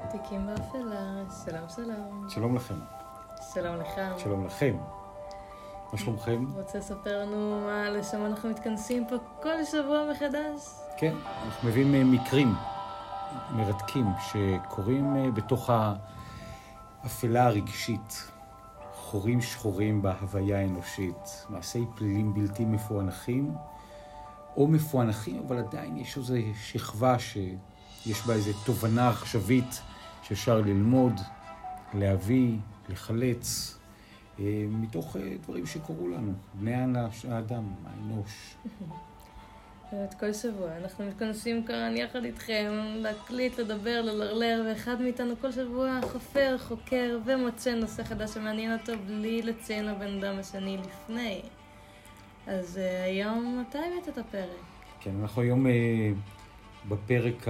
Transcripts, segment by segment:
תיקים באפלה, שלום שלום. שלום לכם. שלום לך. שלום לכם. מה שלומכם? רוצה לספר לנו מה לשם אנחנו מתכנסים פה כל שבוע מחדש? כן, אנחנו מביאים מקרים מרתקים שקורים בתוך האפלה הרגשית. חורים שחורים בהוויה האנושית, מעשי פלילים בלתי מפוענחים, או מפוענחים, אבל עדיין יש איזו שכבה שיש בה איזו תובנה עכשווית שאפשר ללמוד, להביא, לחלץ, מתוך דברים שקורו לנו, בני האדם, האנוש. את כל שבוע אנחנו מתכנסים כאן יחד איתכם, להקליט, לדבר, ללרלר, ואחד מאיתנו כל שבוע חופר, חוקר ומוצא נושא חדש שמעניין אותו בלי לציין לבן אדם השני לפני. אז היום מתי הבאת את הפרק? כן, אנחנו היום בפרק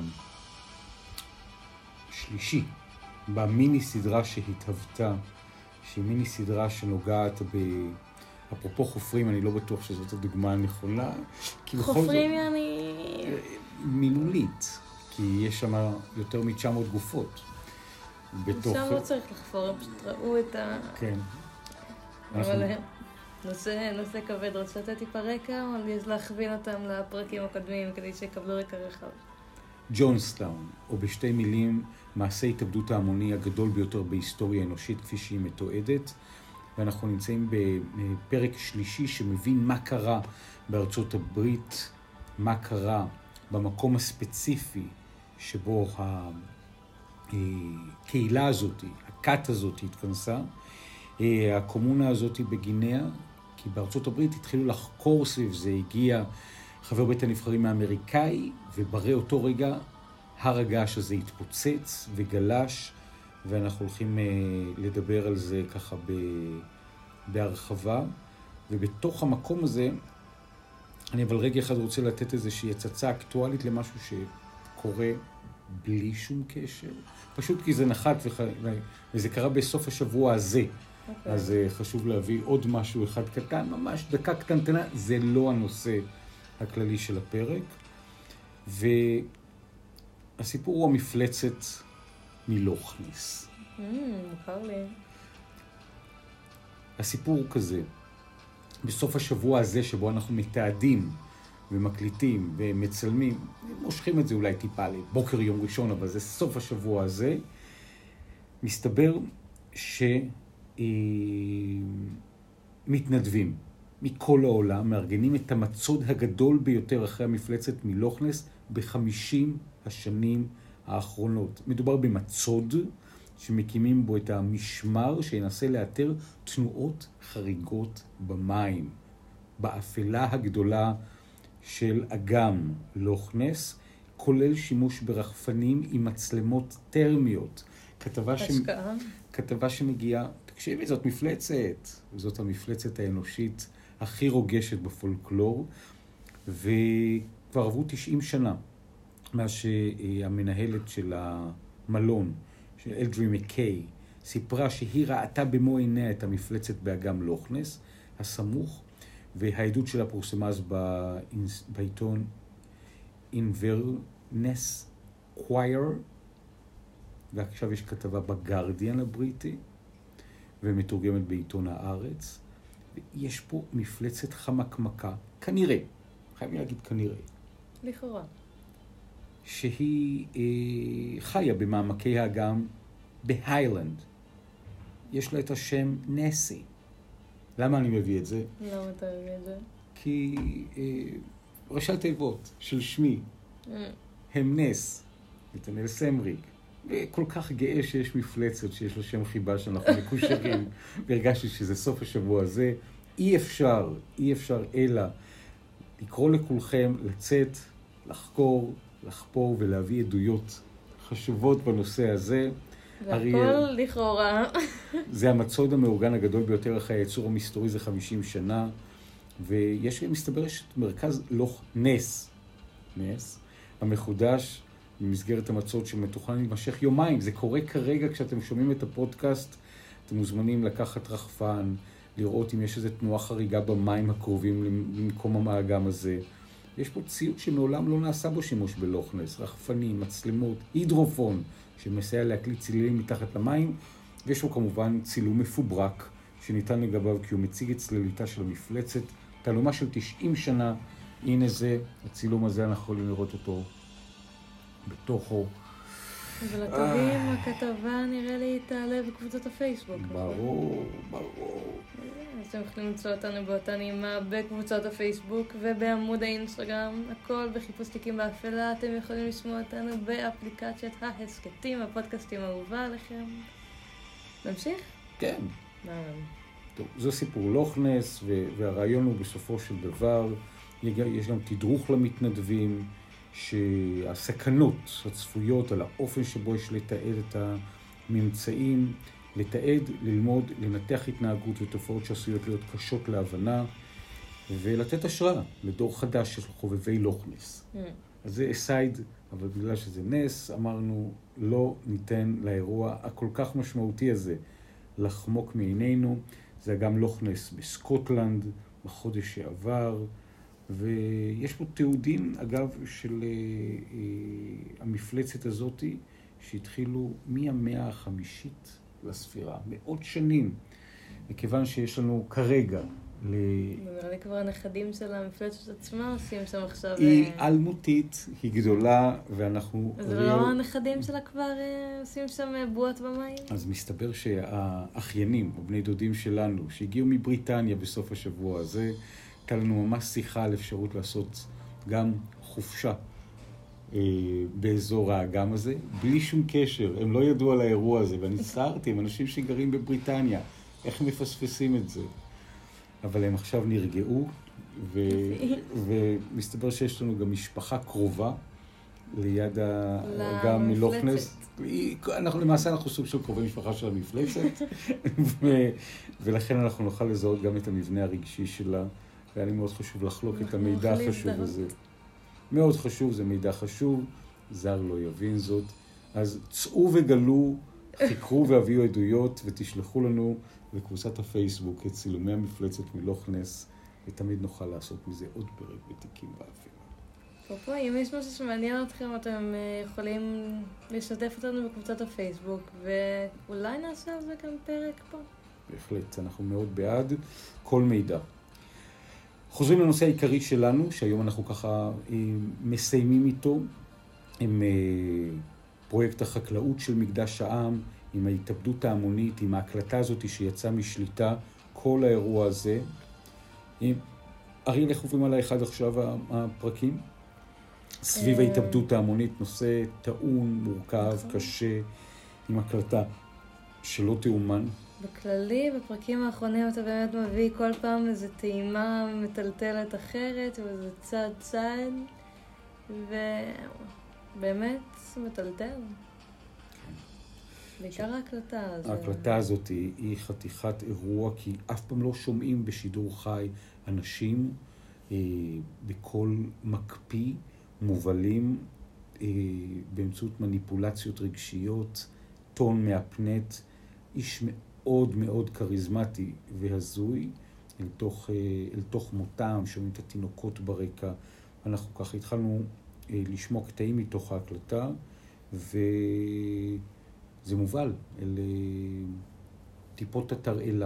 השלישי, במיני סדרה שהתהוותה, שהיא מיני סדרה שנוגעת אפרופו חופרים, אני לא בטוח שזאת הדוגמה הנכונה. חופרים יעני... מילולית, כי יש שם יותר מ-900 גופות. שם לא צריך לחפור, הם פשוט ראו את כן. אבל נושא כבד, רוצה לתת טיפה רקע, או להכווין אותם לפרקים הקודמים כדי שיקבלו רקע רחב? ג'ונסטאון, או בשתי מילים, מעשה התאבדות ההמוני הגדול ביותר בהיסטוריה האנושית כפי שהיא מתועדת. ואנחנו נמצאים בפרק שלישי שמבין מה קרה בארצות הברית, מה קרה במקום הספציפי שבו הקהילה הזאת, הכת הזאת התכנסה, הקומונה הזאת בגינאה, כי בארצות הברית התחילו לחקור סביב זה, הגיע חבר בית הנבחרים האמריקאי, וברא אותו רגע הר הגעש הזה התפוצץ וגלש, ואנחנו הולכים לדבר על זה ככה בהרחבה. ובתוך המקום הזה, אני אבל רגע אחד רוצה לתת איזושהי הצצה אקטואלית למשהו שקורה בלי שום קשר. פשוט כי זה נחת וזה קרה בסוף השבוע הזה. Okay. אז חשוב להביא עוד משהו אחד קטן, ממש דקה קטנטנה, זה לא הנושא הכללי של הפרק. והסיפור הוא המפלצת מלוך נס. מוכר לי. הסיפור הוא כזה, בסוף השבוע הזה שבו אנחנו מתעדים ומקליטים ומצלמים, מושכים את זה אולי טיפה לבוקר יום ראשון, אבל זה סוף השבוע הזה, מסתבר שמתנדבים מכל העולם, מארגנים את המצוד הגדול ביותר אחרי המפלצת מלוך נס ב-50 השנים האחרונות. מדובר במצוד שמקימים בו את המשמר שינסה לאתר תנועות חריגות במים, באפלה הגדולה של אגם לוך נס, כולל שימוש ברחפנים עם מצלמות טרמיות. כתבה שמגיעה, תקשיבי, זאת מפלצת, זאת המפלצת האנושית הכי רוגשת בפולקלור, וכבר עברו 90 שנה מאז שהמנהלת של המלון, של אלדרי מקיי, סיפרה שהיא ראתה במו עיניה את המפלצת באגם לוך נס הסמוך, והעדות שלה פורסמה אז בעיתון Inverness Choir, ועכשיו יש כתבה בגרדיאן הבריטי, ומתורגמת בעיתון הארץ. ויש פה מפלצת חמקמקה, כנראה, חייבים להגיד כנראה. לכאורה. שהיא חיה במעמקי האגם בהיילנד. יש לה את השם נסי. למה אני מביא את זה? למה אתה מביא את זה? כי ראשי תיבות של שמי הם נס, נתנאל סמריק, וכל כך גאה שיש מפלצת שיש לו שם חיבה שאנחנו מקושרים, והרגשתי שזה סוף השבוע הזה. אי אפשר אלא לקרוא לכולכם לצאת, לחקור, לחפור ולהביא עדויות חשובות בנושא הזה. והכל לכאורה. זה המצוד המאורגן הגדול ביותר אחרי הייצור המסתורי זה 50 שנה, ויש מסתבר מרכז לוך נס, המחודש במסגרת המצוד שמתוכנן להימשך יומיים. זה קורה כרגע כשאתם שומעים את הפודקאסט, אתם מוזמנים לקחת רחפן, לראות אם יש איזו תנועה חריגה במים הקרובים למקום האגם הזה. יש פה ציוד שמעולם לא נעשה בו שימוש בלוכנס, רחפנים, מצלמות, הידרופון, שמסייע להקליט צלילים מתחת למים, ויש פה כמובן צילום מפוברק, שניתן לגביו כי הוא מציג את צלליתה של המפלצת, תעלומה של 90 שנה, הנה זה, הצילום הזה אנחנו יכולים לראות אותו בתוכו. ולטובים, הכתבה נראה לי תעלה בקבוצות הפייסבוק. ברור. אז אתם יכולים למצוא אותנו באותה נעימה בקבוצות הפייסבוק ובעמוד האינסטגרם, הכל בחיפוש תיקים באפלה. אתם יכולים לשמוע אותנו באפליקציית ההסקטים, הפודקאסטים האהובה עליכם. נמשיך? כן. נעם. טוב, זה סיפור לוכנס, והרעיון הוא בסופו של דבר, יש גם תדרוך למתנדבים, שהסכנות הצפויות על האופן שבו יש לתעד את הממצאים, לתעד, ללמוד, לנתח התנהגות ותופעות שעשויות להיות קשות להבנה, ולתת השראה לדור חדש של חובבי לוכנס. אז זה אסייד, אבל בגלל שזה נס, אמרנו לא ניתן לאירוע הכל כך משמעותי הזה לחמוק מעינינו. זה גם לוכנס בסקוטלנד בחודש שעבר, ויש פה תיעודים, אגב, של המפלצת הזאת, שהתחילו מהמאה החמישית לספירה, מאות שנים, וכיוון שיש לנו כרגע נראה לי כבר הנכדים של המפלצת עצמה עושים שם עכשיו... היא אלמותית, היא גדולה, ואנחנו... אז לא הנכדים שלה כבר עושים שם בועות במים? אז מסתבר שהאחיינים, או בני דודים שלנו, שהגיעו מבריטניה בסוף השבוע הזה, הייתה לנו ממש שיחה על אפשרות לעשות גם חופשה באזור האגם הזה, בלי שום קשר. הם לא ידעו על האירוע הזה, ואני צערתי עם אנשים שגרים בבריטניה, איך הם מפספסים את זה. אבל הם עכשיו נרגעו, ומסתבר שיש לנו גם משפחה קרובה ליד האגם מלוכנס. למעשה אנחנו סוג של קרובי משפחה של המפלצת, ולכן אנחנו נוכל לזהות גם את המבנה הרגשי שלה, והיה לי מאוד חשוב לחלוק את המידע החשוב הזה. מאוד חשוב, זה מידע חשוב, זר לא יבין זאת. אז צאו וגלו, חיקרו והביאו עדויות, ותשלחו לנו לקבוצת הפייסבוק את צילומי המפלצת מלוכנס, ותמיד נוכל לעשות מזה עוד פרק בתיקים באפלה. פה, אם יש משהו שמעניין אתכם, אתם יכולים לשתף אותנו בקבוצת הפייסבוק, ואולי נעשה על זה גם פרק פה. בהחלט, אנחנו מאוד בעד כל מידע. חוזרים לנושא העיקרי שלנו, שהיום אנחנו ככה מסיימים איתו, עם פרויקט החקלאות של מקדש העם, עם ההתאבדות ההמונית, עם ההקלטה הזאת שיצאה משליטה, כל האירוע הזה. אריאל, איך עוברים עליי אחד עכשיו הפרקים? סביב ההתאבדות ההמונית, נושא טעון, מורכב, קשה, עם הקלטה שלא תאומן. בכללי, בפרקים האחרונים אתה באמת מביא כל פעם איזו טעימה מטלטלת אחרת, ואיזה צעד, ובאמת מטלטל. בעיקר ההקלטה הזאת. ההקלטה הזאת היא חתיכת אירוע, כי אף פעם לא שומעים בשידור חי אנשים בכל מקפיא, מובלים באמצעות מניפולציות רגשיות, טון מהפנט, איש מאוד מאוד קריזמטי והזוי, אל תוך מותם, שומעים את התינוקות ברקע. אנחנו ככה התחלנו לשמוע קטעים מתוך ההקלטה, וזה מובל אל טיפות התרעלה.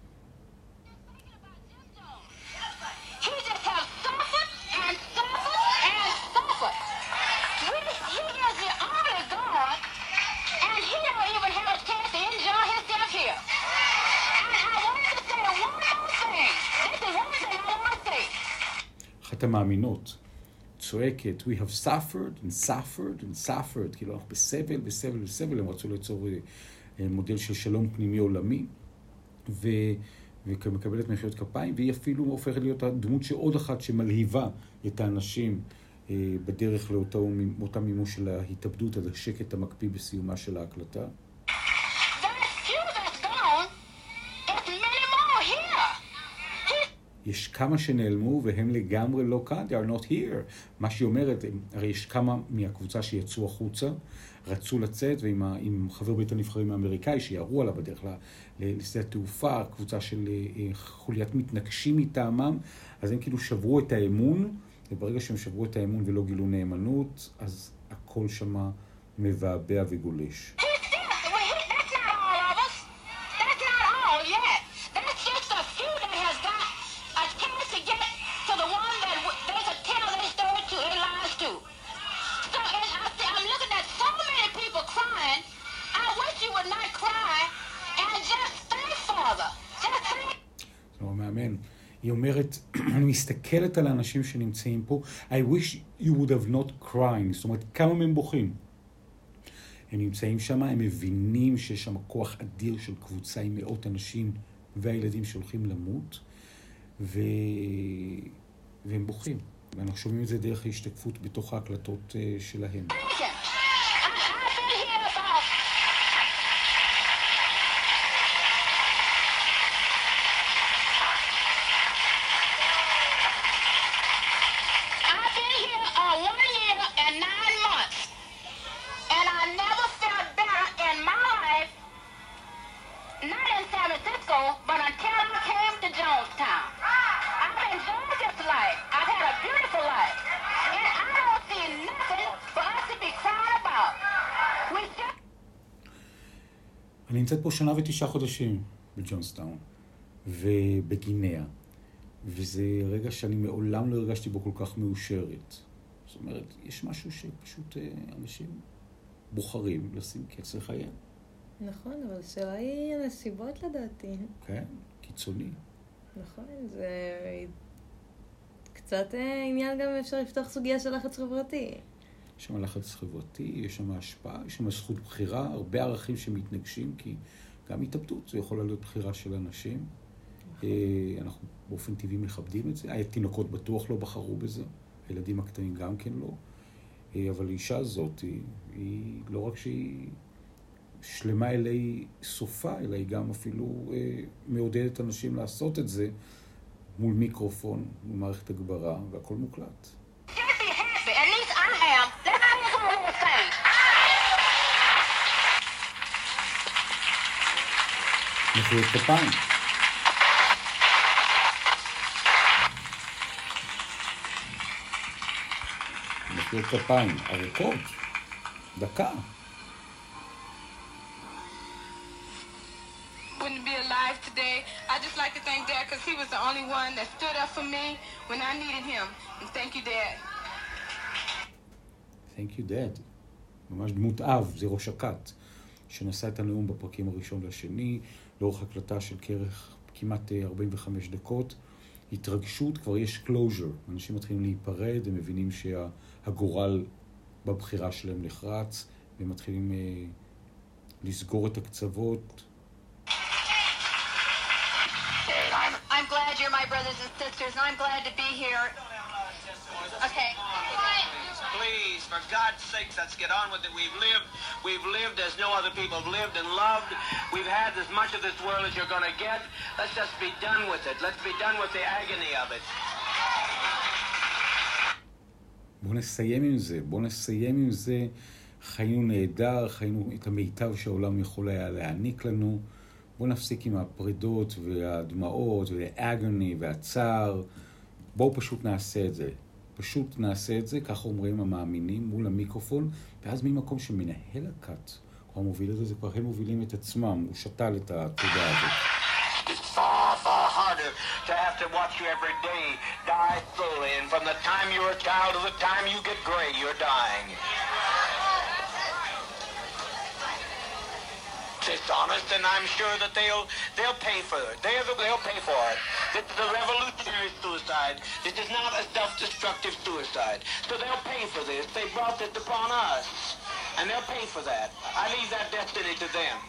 אחת המאמינות צועקת, we have suffered and suffered and suffered, כאילו אנחנו בסבל, בסבל, בסבל, הם רצו ליצור מודל של שלום פנימי עולמי, ומקבלת מחיאות כפיים, והיא אפילו הופכת להיות הדמות שעוד אחת שמלהיבה את האנשים בדרך לאותה מימוש של ההתאבדות, עד השקט המקפיא בסיומה של ההקלטה. יש כמה שנעלמו והם לגמרי לא כאן, they are not here. מה שהיא אומרת, הרי יש כמה מהקבוצה שיצאו החוצה, רצו לצאת, ועם חבר בית הנבחרים האמריקאי שיערו עליו בדרך לשדה התעופה, קבוצה של חוליית מתנגשים מטעמם, אז הם כאילו שברו את האמון, וברגע שהם שברו את האמון ולא גילו נאמנות, אז הכל שמה מבעבע וגולש. היא אומרת, אני מסתכלת על האנשים שנמצאים פה, I wish you would have not crying, זאת אומרת, כמה מהם בוכים. הם נמצאים שם, הם מבינים שיש שם כוח אדיר של קבוצה עם מאות אנשים והילדים שהולכים למות, והם בוכים. ואנחנו שומעים את זה דרך ההשתקפות בתוך ההקלטות שלהם. אני נמצאת פה 1.9 חודשים בג'ונסטאון ובגינאה, וזה רגע שאני מעולם לא הרגשתי בו כל כך מאושרת. זאת אומרת, יש משהו שפשוט אנשים בוחרים לשים קץ לחייהם. נכון, אבל השאלה היא הנסיבות לדעתי. כן, קיצוני. נכון, זה קצת עניין גם אפשר לפתוח סוגיה של לחץ חברתי. יש שם לחץ חברתי, יש שם השפעה, יש שם זכות בחירה, הרבה ערכים שמתנגשים, כי גם התאבדות זה יכול להיות בחירה של אנשים. אנחנו באופן טבעי מכבדים את זה. התינוקות בטוח לא בחרו בזה, הילדים הקטנים גם כן לא. אבל האישה הזאת, היא לא רק שהיא שלמה אלי סופה, אלא היא גם אפילו מעודדת אנשים לעשות את זה מול מיקרופון, מול מערכת הגברה, והכל מוקלט. מחיאות כפיים. מחיאות כפיים, ארוכות, דקה. Wouldn't be alive today. I just like to thank Dad because he was the only one that stood up for me when I needed him. And thank you, Dad. Thank you, Dad. ממש דמות אב, זה ראש הכת, שנשא את הנאום בפרקים הראשון והשני, לאורך הקלטה של כמעט 45 דקות. התרגשות, כבר יש closure. אנשים מתחילים להיפרד, הם מבינים שהגורל בבחירה שלהם נחרץ, והם מתחילים לסגור את הקצוות. I'm glad you're my brothers and sisters, and I'm glad to be here. Okay. Please, for God's sakes, let's get on with it. We've lived as no other people have lived and loved. We've had as much of this world as you're going to get. Let's just be done with it. Let's be done with the agony of it. בואו נסיים עם זה. חיינו נהדר, חיינו את המיטב שהעולם יכול היה להעניק לנו. בואו נפסיק עם הפרידות והדמעות והאגוני והצער. בואו פשוט נעשה את זה. ככה אומרים המאמינים מול המיקרופון, ואז ממקום שמנהל הכת, כבר מוביל את זה, כבר הם מובילים את עצמם, הוא שתל את התודעה הזאת. It's far, far harder to have to watch you every day die slowly, and from the time you're a child to the time you get gray, you're dying. It's honest, and I'm sure that they'll pay for it. They'll pay for it. This is a revolutionary suicide. This is not a self-destructive suicide. So they'll pay for this. They brought this upon us, and they'll pay for that. I leave that destiny to them.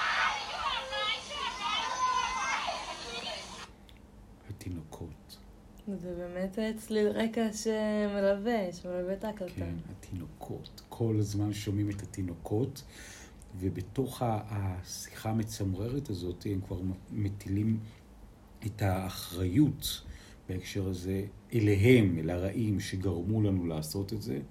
התינוקות. זה באמת צליל רקע שמלווה את ההקלטה. כן, התינוקות. כל הזמן שומעים את התינוקות. ובתוך השיחה המצמררת הזאת הם כבר מטילים את האחריות בהקשר הזה אליהם, אל הרעים שגרמו לנו לעשות את זה,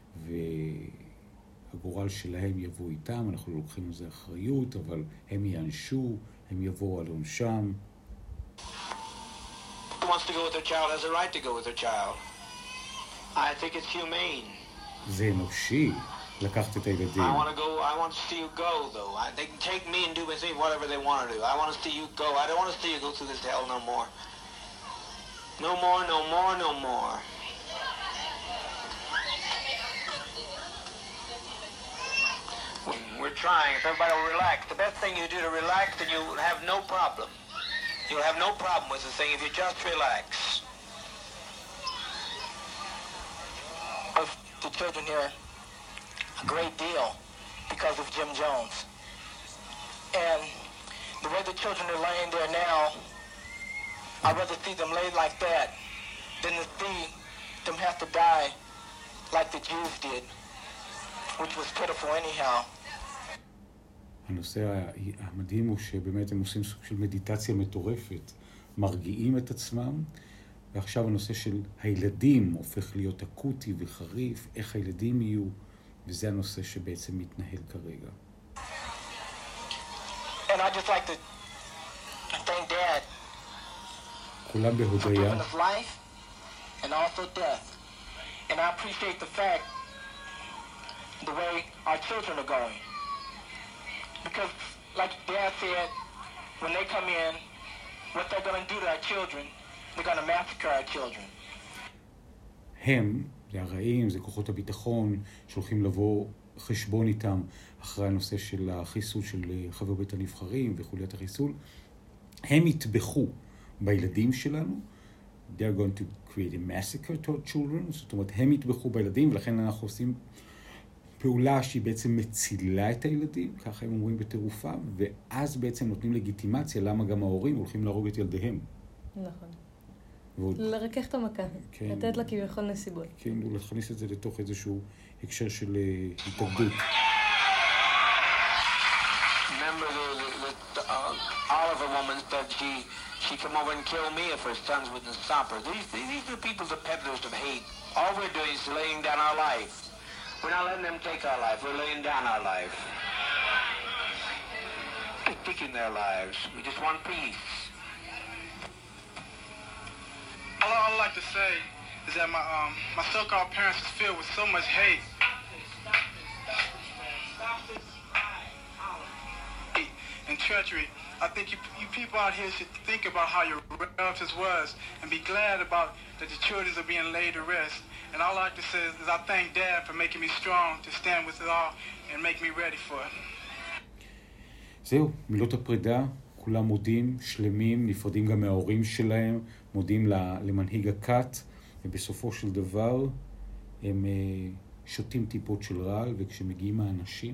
והגורל שלהם יבוא איתם. אנחנו לוקחים על זה אחריות, אבל הם יענשו, הם יבואו על עונשם. Who wants to go with their child has a right to go with their child. I think it's humane. זה אנושי לקחת את הילדים. I want to see you go, though. They can take me and do with me whatever they want to do. I want to see you go. I don't want to see you go through this hell no more. No more, no more, no more. We're trying. If everybody will relax. The best thing you do to relax, and you'll have no problem. You'll have no problem with the thing if you just relax. The children here a great deal because of Jim Jones. And the way the children are laying there now, I'd rather see them laid like that than to see them have to die like the Jews did, which was pitiful anyhow. הנושא המדהים הוא שבאמת הם עושים סוג של מדיטציה מטורפת, מרגיעים את עצמם, ועכשיו הנושא של הילדים הופך להיות אקוטי וחריף, איך הילדים יהיו, וזה הנושא שבעצם מתנהל כרגע. And I just like to thank Dad כולם for giving בהודיה, us life and also death. And I appreciate the fact the way our children are going. Because like Dad said, when they come in, what they're going to do to our children, they're going to massacre our children. הם, זה הרעים, זה כוחות הביטחון, שהולכים לבוא חשבון איתם אחרי הנושא של החיסול של חבר בית הנבחרים וחוליית החיסול. הם יטבחו בילדים שלנו. They're going to create a massacre to our children. זאת אומרת, הם יטבחו בילדים, ולכן אנחנו עושים פעולה שהיא בעצם מצילה את הילדים, ככה הם אומרים בטירופה, ואז בעצם נותנים לגיטימציה למה גם ההורים הולכים להרוג את ילדיהם. נכון. ועוד, לרכך את המכה, כן. לתת לה כביכול נסיבות. כן, להכניס את זה לתוך איזשהו הקשר של התאבדות. Remember the Oliver woman said she come over and kill me if her sons wouldn't stop her. These are people, the peddlers of hate. All we're doing is laying down our life. We're not letting them take our life. We're laying down our life. They're taking their lives. We just want peace. All I'd like to say is that my so-called parents was filled with so much hate. And treachery. I think you people out here should think about how your relatives was and be glad about that the children are being laid to rest. And all I like to say is I thank Dad for making me strong to stand with it all and make me ready for it. זהו, מילות הפרידה, כולם מודים, שלמים, נפרדים גם מההורים שלהם, מודים למנהיג הכת, ובסופו של דבר הם שותים טיפות של רעל, וכשמגיעים האנשים,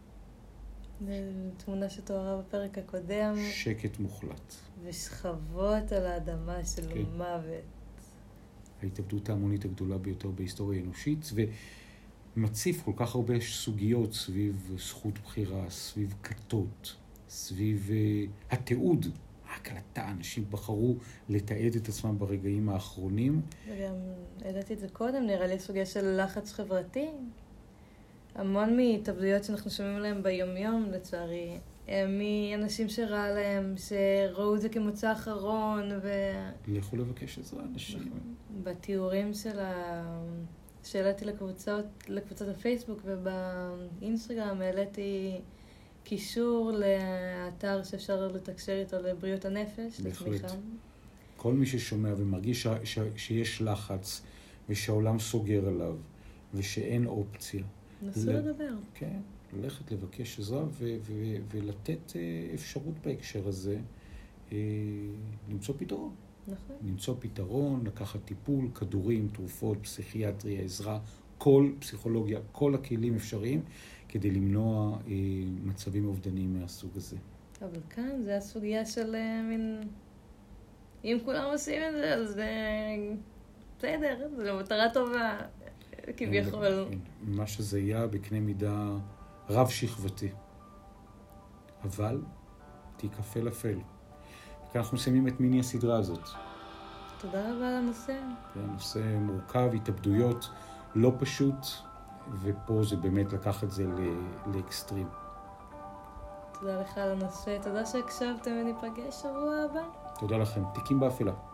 תמונה שתוארה בפרק הקודם. שקט מוחלט. ושכבות על האדמה של כן. מוות. ההתאבדות ההמונית הגדולה ביותר בהיסטוריה האנושית, ומציף כל כך הרבה סוגיות סביב זכות בחירה, סביב כתות, סביב התיעוד, ההקלטה. אנשים בחרו לתעד את עצמם ברגעים האחרונים. וגם העליתי את זה קודם, נראה לי סוגיה של לחץ חברתי. המון מהתאבדויות שאנחנו שומעים עליהם ביומיום, לצערי, מאנשים שראה להם, שראו את זה כמוצא אחרון, לכו לבקש עזרה, אנשים. בתיאורים שהעליתי לקבוצת הפייסבוק ובאינסטגרם, העליתי קישור לאתר שאפשר לתקשר איתו לבריאות הנפש, לתמיכה. כל מי ששומע ומרגיש שיש לחץ ושהעולם סוגר עליו ושאין אופציה. נסו לדבר. כן, ללכת לבקש עזרה ולתת אפשרות בהקשר הזה, למצוא פתרון. נכון. למצוא פתרון, לקחת טיפול, כדורים, תרופות, פסיכיאטריה, עזרה, כל פסיכולוגיה, כל הכלים אפשריים, כדי למנוע מצבים אובדניים מהסוג הזה. אבל כאן זה הסוגיה של מין... אם כולם עושים את זה, אז זה בסדר, זה מטרה טובה, כביכול. מה שזה היה בקנה מידה רב שכבתי. אבל תיקפה לפל. וכאן אנחנו מסיימים את מיני הסדרה הזאת. תודה רבה על הנושא. נושא מורכב, התאבדויות, לא פשוט, ופה זה באמת לקח את זה לאקסטרים. תודה לך על הנושא, תודה שהקשבתם וניפגש שבוע הבא. תודה לכם. תיקים באפלה.